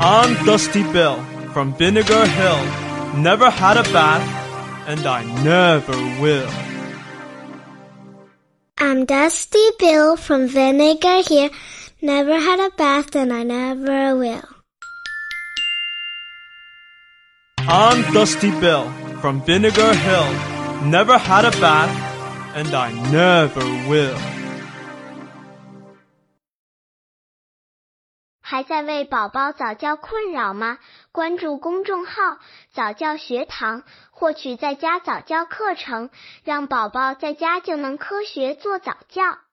I'm Dusty Bill from Vinegar Hill. Never had a bath, and I never will. I'm Dusty Bill from Vinegar Hill. Never had a bath, and I never will. I'm Dusty Bill from Vinegar Hill. Never had a bath, and I never will. 还在为宝宝早教困扰吗？关注公众号早教学堂，获取在家早教课程，让宝宝在家就能科学做早教。